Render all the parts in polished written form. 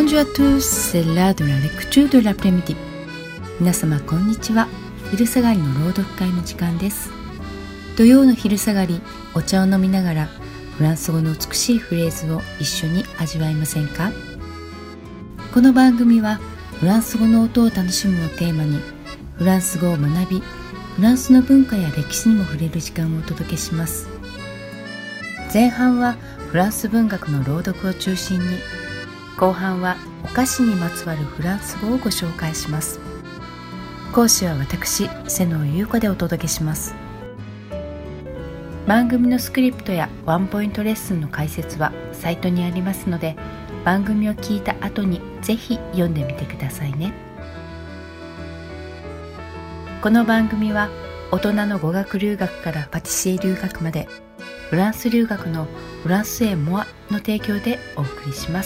Bonjour à tous, c'est l'heure de la lecture de l'après-midi. 皆様こんにちは。昼下がりの朗読会の時間です。土曜の昼下がり、お茶を飲みながらフランス語の美しいフレーズを一緒に味わいませんか？この番組はフランス語の音を楽しむをテーマに、フランス語を学び、フランスの文化や歴史にも触れる時間をお届けします。前半はフランス文学の朗読を中心に、後半はお菓子にまつわるフランス語をご紹介します。講師は私、瀬野優子でお届けします。番組のスクリプトやワンポイントレッスンの解説はサイトにありますので、番組を聞いた後にぜひ読んでみてくださいね。この番組は大人の語学留学からパティシエ留学まで、フランス留学のフランスエモアの提供でお送りします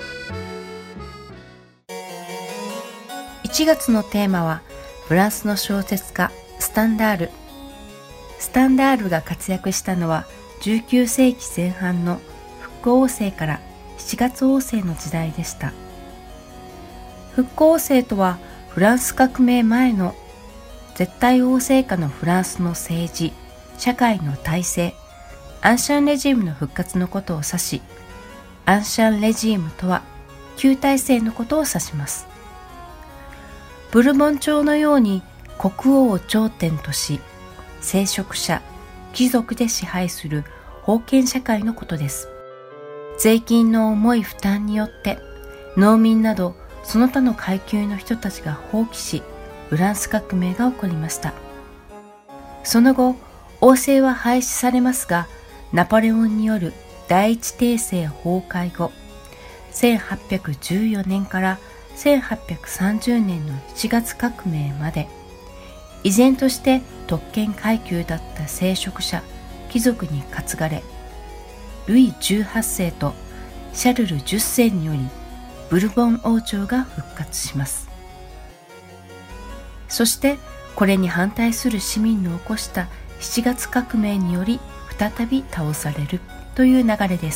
。1月のテーマはフランスの小説家スタンダール。スタンダールが活躍したのは19世紀前半の復興王政から7月王政の時代でした。復興王政とはフランス革命前の絶対王政下のフランスの政治、社会の体制、アンシャンレジームの復活のことを指し、アンシャンレジームとは旧体制のことを指します。ブルボン朝のように国王を頂点とし、聖職者、貴族で支配する封建社会のことです。税金の重い負担によって農民などその他の階級の人たちが放棄し、フランス革命が起こりました。その後、王政は廃止されますが、ナポレオンによる第一帝政崩壊後、1814年から1830年の7月革命まで、依然として特権階級だった聖職者、貴族に担がれ、ルイ18世とシャルル10世によりブルボン王朝が復活します。そしてこれに反対する市民の起こした7月革命により再び倒されるという流れです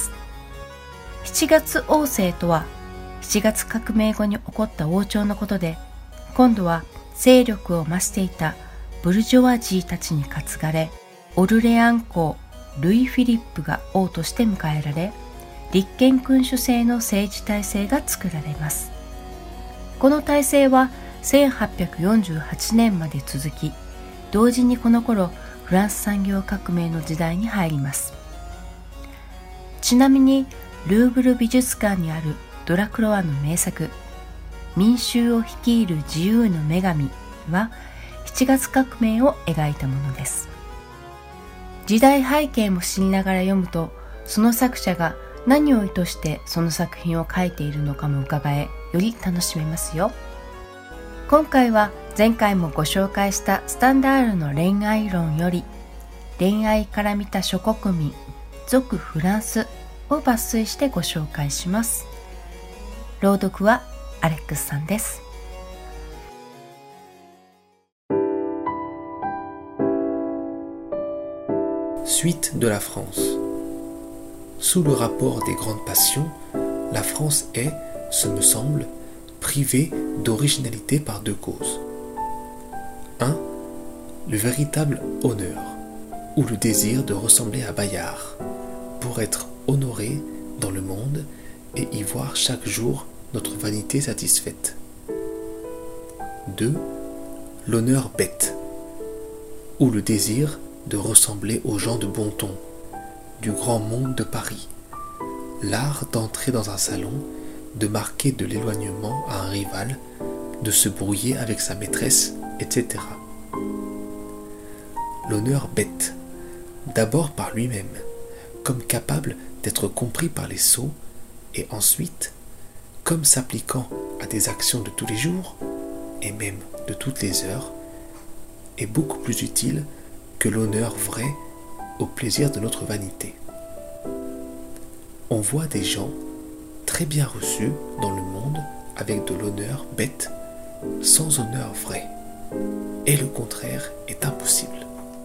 。7月王政とは7月革命後に起こった王朝のことで、今度は勢力を増していたブルジョワジーたちに担がれ、オルレアン公ルイ・フィリップが王として迎えられ、立憲君主制の政治体制が作られます。この体制は1848年まで続き、同時にこの頃フランス産業革命の時代に入ります。ちなみにルーブル美術館にあるドラクロワの名作、民衆を率いる自由の女神は7月革命を描いたものです。時代背景も知りながら読むと、その作者が何を意図してその作品を描いているのかも伺え、より楽しめますよ。今回は前回もご紹介したスタンダールの恋愛論より、恋愛から見た諸国民、属フランスを抜粋してご紹介します。朗読はアレックスさんです。 Suite de la France. Sous le rapport des grandes passions, la France est, ce me semble, privée d'originalité par deux causes. 1. Le véritable honneur, ou le désir de ressembler à Bayard, pour être honoré dans le monde et y voir chaque jour notre vanité satisfaite. 2. L'honneur bête, ou le désir de ressembler aux gens de bon ton, du grand monde de Paris, l'art d'entrer dans un salon, de marquer de l'éloignement à un rival, de se brouiller avec sa maîtresse, etc. L'honneur bête, d'abord par lui-même, comme capable d'être compris par les sots, et ensuite, comme s'appliquant à des actions de tous les jours, et même de toutes les heures, est beaucoup plus utile que l'honneur vrai au plaisir de notre vanité. On voit des gens très bien reçus dans le monde avec de l'honneur bête, sans honneur vrai, et le contraire est impossible.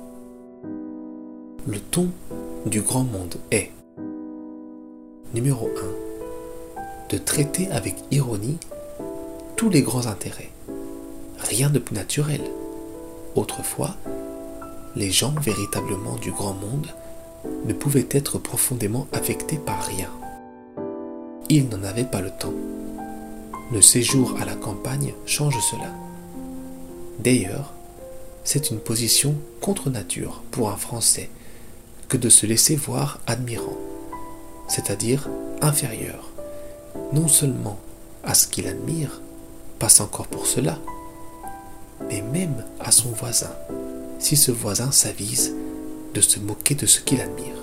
Le ton du grand monde est numéro 1. de traiter avec ironie tous les grands intérêts. Rien de plus naturel. Autrefois, les gens véritablement du grand monde ne pouvaient être profondément affectés par rien. Ils n'en avaient pas le temps. Le séjour à la campagne change cela. D'ailleurs, c'est une position contre nature pour un Français que de se laisser voir admirant, c'est-à-dire inférieur, non seulement à ce qu'il admire, passe encore pour cela, mais même à son voisin, si ce voisin s'avise de se moquer de ce qu'il admire.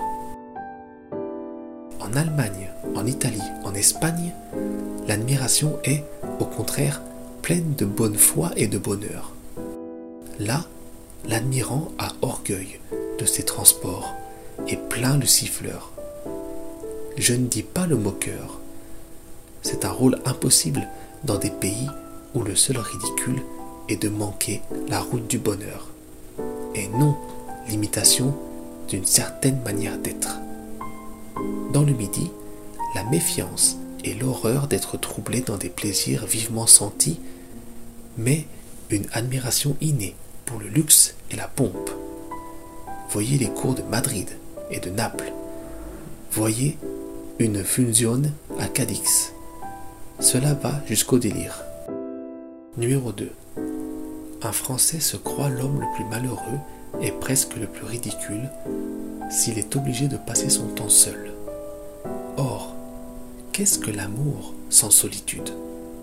En Allemagne, en Italie, en Espagne, l'admiration est, au contraire, pleine de bonne foi et de bonheur. Là, l'admirant a orgueil de ses transports et plaint le siffleur. Je ne dis pas le moqueur. C'est un rôle impossible dans des pays où le seul ridicule est de manquer la route du bonheur, et non l'imitation d'une certaine manière d'être. Dans le Midi, la méfiance et l'horreur d'être troublé dans des plaisirs vivement sentis, mais une admiration innée pour le luxe et la pompe. Voyez les cours de Madrid et de Naples. Voyez une funzione à Cadix. Cela va jusqu'au délire. Numéro 2. Un Français se croit l'homme le plus malheureux et presque le plus ridicule s'il est obligé de passer son temps seul. Or, qu'est-ce que l'amour sans solitude?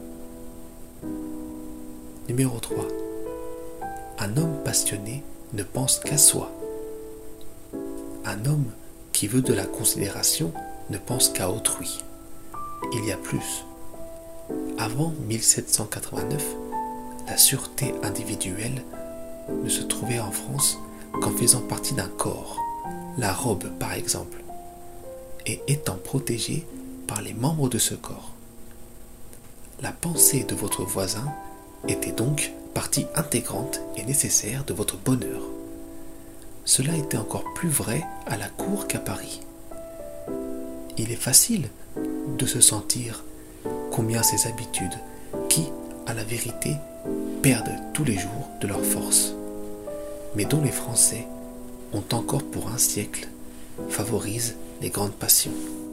Numéro 3. Un homme passionné ne pense qu'à soi. Un homme qui veut de la considération ne pense qu'à autrui. Il y a plus. Avant 1789, la sûreté individuelle ne se trouvait en France qu'en faisant partie d'un corps, la robe par exemple, et étant protégée par les membres de ce corps. La pensée de votre voisin était donc partie intégrante et nécessaire de votre bonheur. Cela était encore plus vrai à la cour qu'à Paris. Il est facile de se sentir combien ces habitudes, qui, à la vérité, perdent tous les jours de leur force, mais dont les Français ont encore pour un siècle, favorisent les grandes passions.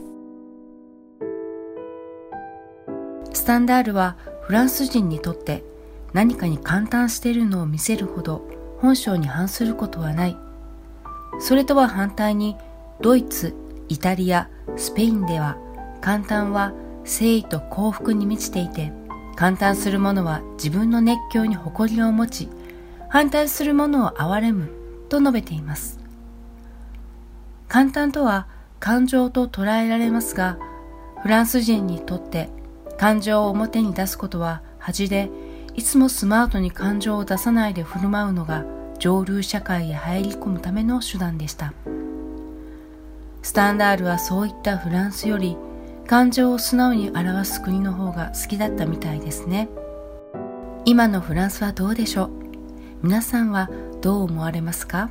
スタンダールはフランス人にとって何かに感嘆しているのを見せるほど本性に反することはない。それとは反対にドイツ、イタリア、スペインでは感嘆は誠意と幸福に満ちていて、感嘆する者は自分の熱狂に誇りを持ち、反対する者を憐れむと述べています。感嘆とは感情と捉えられますが、フランス人にとって感情を表に出すことは恥で、いつもスマートに感情を出さないで振る舞うのが上流社会へ入り込むための手段でした。スタンダールはそういったフランスより感情を素直に表す国の方が好きだったみたいですね。今のフランスはどうでしょう？皆さんはどう思われますか？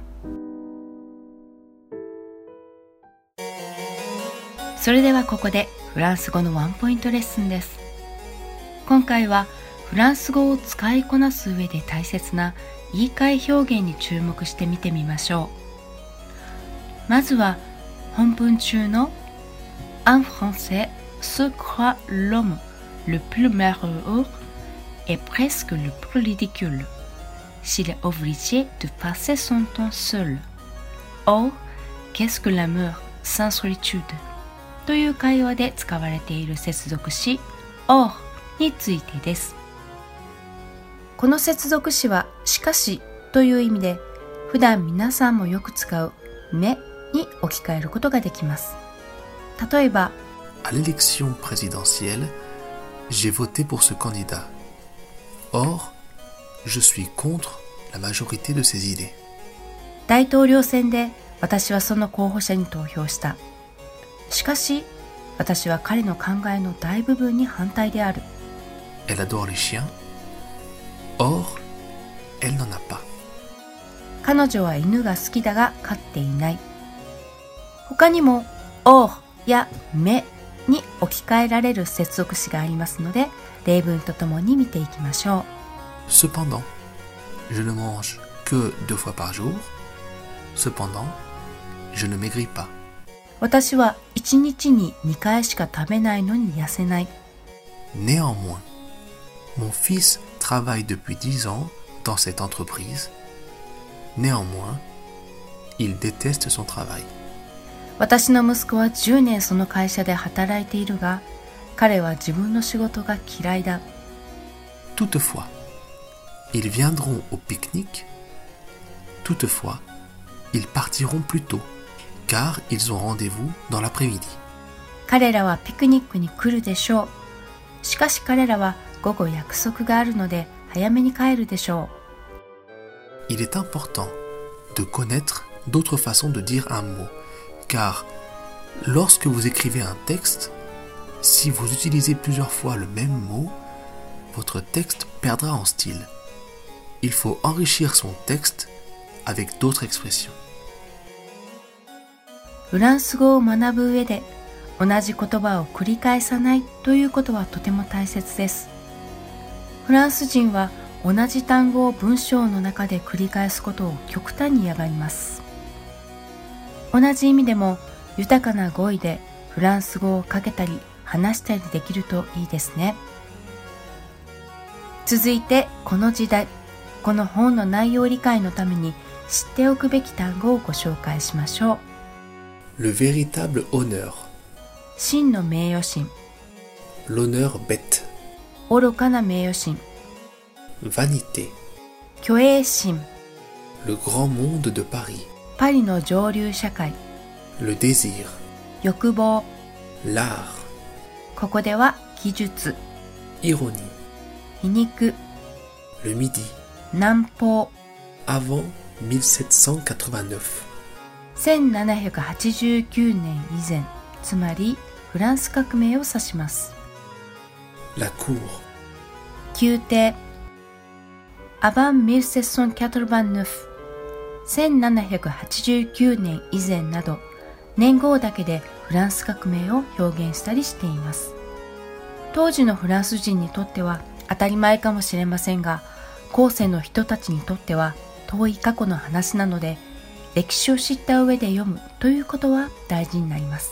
それではここでフランス語のワンポイントレッスンです。今回はフランス語を使いこなす上で大切な言い換え表現に注目して見てみましょう。まずは本文中のUn Français se croit l'homme le plus malheureux et presque le plus ridicule s'il est obligé de passer son temps seul. Or, qu'est-ce que l'amour sans solitude? という会話で使われている接続詞 or についてです。この接続詞はしかしという意味で、普段皆さんもよく使うmaisに置き換えることができます。例えば、 À l'élection présidentielle, j'ai voté pour ce candidat. Or, je suis contre la majorité de ses idées. 大統領選で私はその候補者に投票した。しかし、私は彼の考えの大部分に反対である。 Elle adore les chiens. Or, elle n'en a pas. 彼女は犬が好きだが飼っていない。他にも、or や mais に置き換えられる接続詞がありますので、例文とともに見ていきましょう。 Cependant, je ne mange que 2 fois par jour. Cependant, je ne maigris pas. 私は1日に2回しか食べないのに痩せない。 Néanmoins, mon fils travaille depuis 10 ans dans cette entreprise. Néanmoins, il déteste son travail. 私の息子は10年その会社で働いているが、彼は自分の仕事が嫌いだ。 Toutefois, ils viendront au pique-nique. Toutefois, ils partiront plus tôt, car ils ont rendez-vous dans l'après-midi. 彼らはピクニックに来るでしょう。しかし彼らは午後約束があるので早めに帰るでしょう。Il est important de connaître d'autres façons de dire un mot, car lorsque vous écrivez un texte, si vous utilisez plusieurs fois le même mot, votre texte perdra en style. Il faut enrichir son texte avec d'autres expressions. フランス語を学ぶ上で同じ言葉を繰り返さないということはとても大切です。フランス人は同じ単語を文章の中で繰り返すことを極端に嫌がります。同じ意味でも豊かな語彙でフランス語をかけたり話したりできるといいですね。続いてこの時代、この本の内容理解のために知っておくべき単語をご紹介しましょう。Le véritable honneur。 真の名誉心。 L'honneur bête。 愚かな名誉心。 Vanité。 虚栄心。 Le grand monde de Paris。 パリの上流社会。 Le désir。 欲望。 L'art。 ここでは技術。 Ironie。 皮肉。 Le midi。 南方。 Avant 1789。 1789年以前、つまりフランス革命を指します。 La cour。 宮廷。Avant 1789。1789年以前など、年号だけでフランス革命を表現したりしています。当時のフランス人にとっては当たり前かもしれませんが、後世の人たちにとっては遠い過去の話なので、歴史を知った上で読むということは大事になります。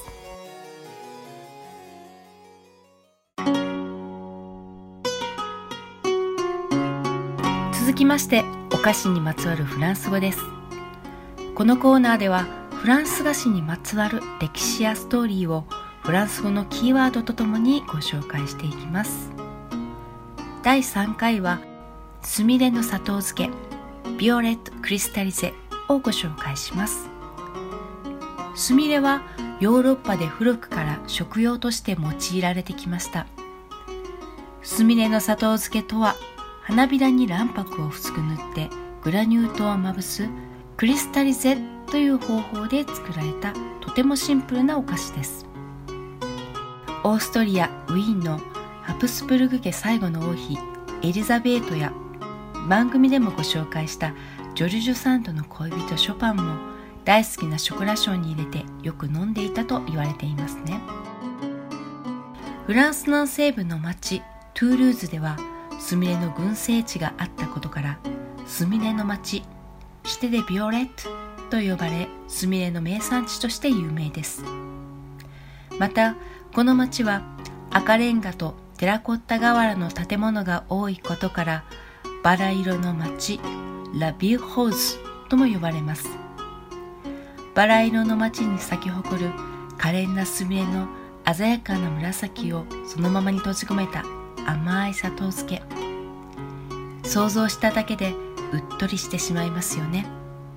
続きまして、お菓子にまつわるフランス語です。このコーナーではフランス菓子にまつわる歴史やストーリーをフランス語のキーワードとともにご紹介していきます。第3回はスミレの砂糖漬けビオレットクリスタリゼをご紹介します。スミレはヨーロッパで古くから食用として用いられてきました。スミレの砂糖漬けとは、花びらに卵白を薄く塗ってグラニュー糖をまぶすクリスタリゼという方法で作られたとてもシンプルなお菓子です。オーストリア・ウィーンのハプスブルグ家最後の王妃エリザベートや、番組でもご紹介したジョルジュ・サンドの恋人ショパンも大好きなショコラショーに入れてよく飲んでいたと言われていますね。フランス南西部の町トゥールーズではスミレの群生地があったことから、スミレの町シテ・デ・ビオレットと呼ばれ、スミレの名産地として有名です。またこの町は赤レンガとテラコッタ瓦の建物が多いことから、バラ色の町ラ・ビューホーズとも呼ばれます。バラ色の町に咲き誇る可憐なスミレの鮮やかな紫をそのままに閉じ込めた甘い砂糖漬け、想像しただけでうっとりしてしまいますよね。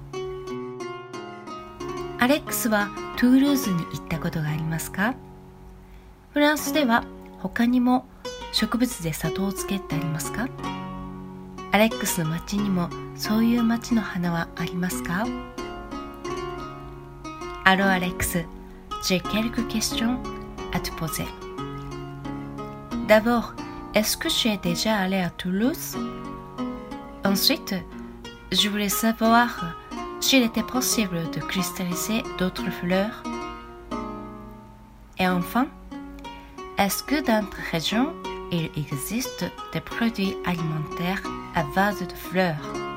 アレックスはトゥールーズに行ったことがありますか？フランスでは他にも植物で砂糖漬けってありますか？アレックスの町にもそういう町の花はありますか？ Alors Alex, j'ai quelques questions à te poser. D'abord, est-ce que tu es déjà allé à Toulouse? Ensuite, je voulais savoir s'il était possible de cristalliser d'autres fleurs. Et enfin, Est-ce que dans ta région, il existe des produits alimentaires à base de fleurs?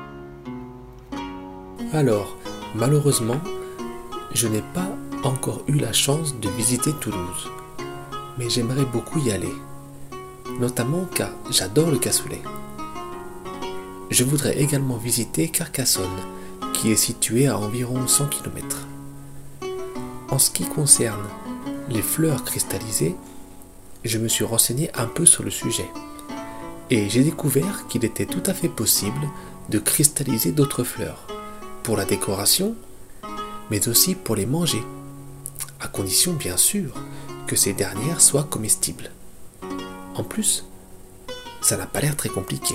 Alors, malheureusement, je n'ai pas encore eu la chance de visiter Toulouse, mais j'aimerais beaucoup y aller, notamment car j'adore le cassoulet. Je voudrais également visiter Carcassonne, qui est située à environ 100 km. En ce qui concerne les fleurs cristallisées, je me suis renseigné un peu sur le sujet, et j'ai découvert qu'il était tout à fait possible de cristalliser d'autres fleurs, pour la décoration, mais aussi pour les manger, à condition bien sûr que ces dernières soient comestibles. En plus, ça n'a pas l'air très compliqué.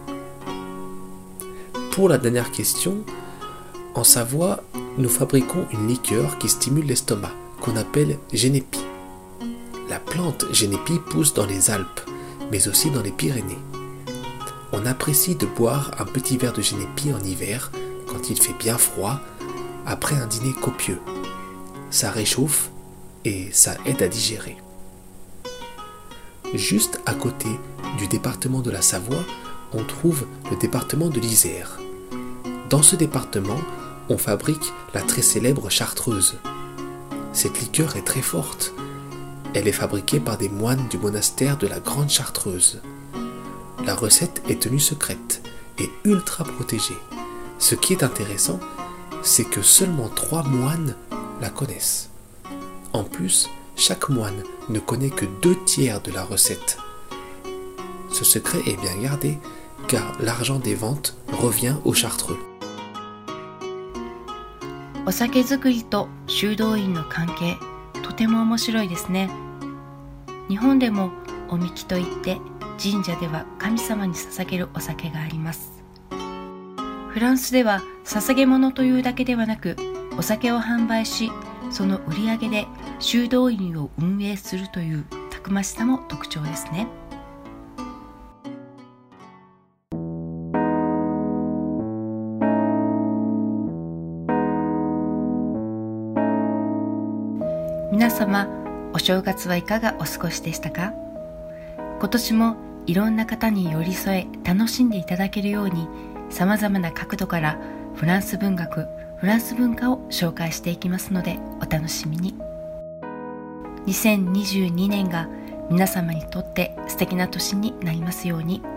Pour la dernière question, en Savoie, nous fabriquons une liqueur qui stimule l'estomac, qu'on appelle génépi. La plante génépi pousse dans les Alpes, mais aussi dans les Pyrénées. On apprécie de boire un petit verre de génépi en hiver, quand il fait bien froid, après un dîner copieux. Ça réchauffe et ça aide à digérer. Juste à côté du département de la Savoie, on trouve le département de l'Isère. Dans ce département, on fabrique la très célèbre chartreuse. Cette liqueur est très forte. Elle est fabriquée par des moines du monastère de la Grande Chartreuse. La recette est tenue secrète et ultra protégée. Ce qui est intéressant, c'est que seulement 3 moines la connaissent. En plus, chaque moine ne connaît que 2/3 de la recette. Ce secret est bien gardé, car l'argent des ventes revient aux chartreux. お酒造りと修道院の関係、とても面白いですね。日本でもおみきといって神社では神様に捧げるお酒があります。フランスでは捧げ物というだけではなく、お酒を販売し、その売り上げで修道院を運営するというたくましさも特徴ですね。皆様、お正月はいかがお過ごしでしたか？今年もいろんな方に寄り添え楽しんでいただけるように、さまざまな角度からフランス文学、フランス文化を紹介していきますのでお楽しみに。2022年が皆様にとって素敵な年になりますように。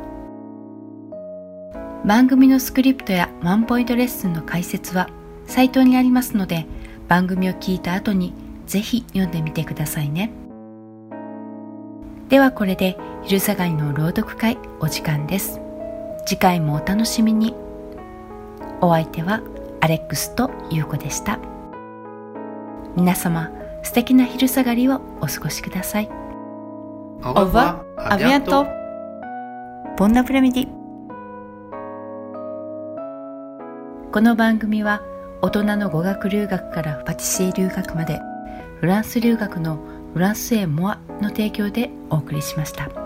番組のスクリプトやワンポイントレッスンの解説はサイトにありますので、番組を聞いた後にぜひ読んでみてくださいね。ではこれで昼下がりの朗読会お時間です。次回もお楽しみに。お相手はアレックスとユウコでした。皆様、素敵な昼下がりをお過ごしください。 Au revoir, à bientôt. Bon après-midi。この番組は大人の語学留学からパティシエ留学まで、フランス留学のフランスへモアの提供でお送りしました。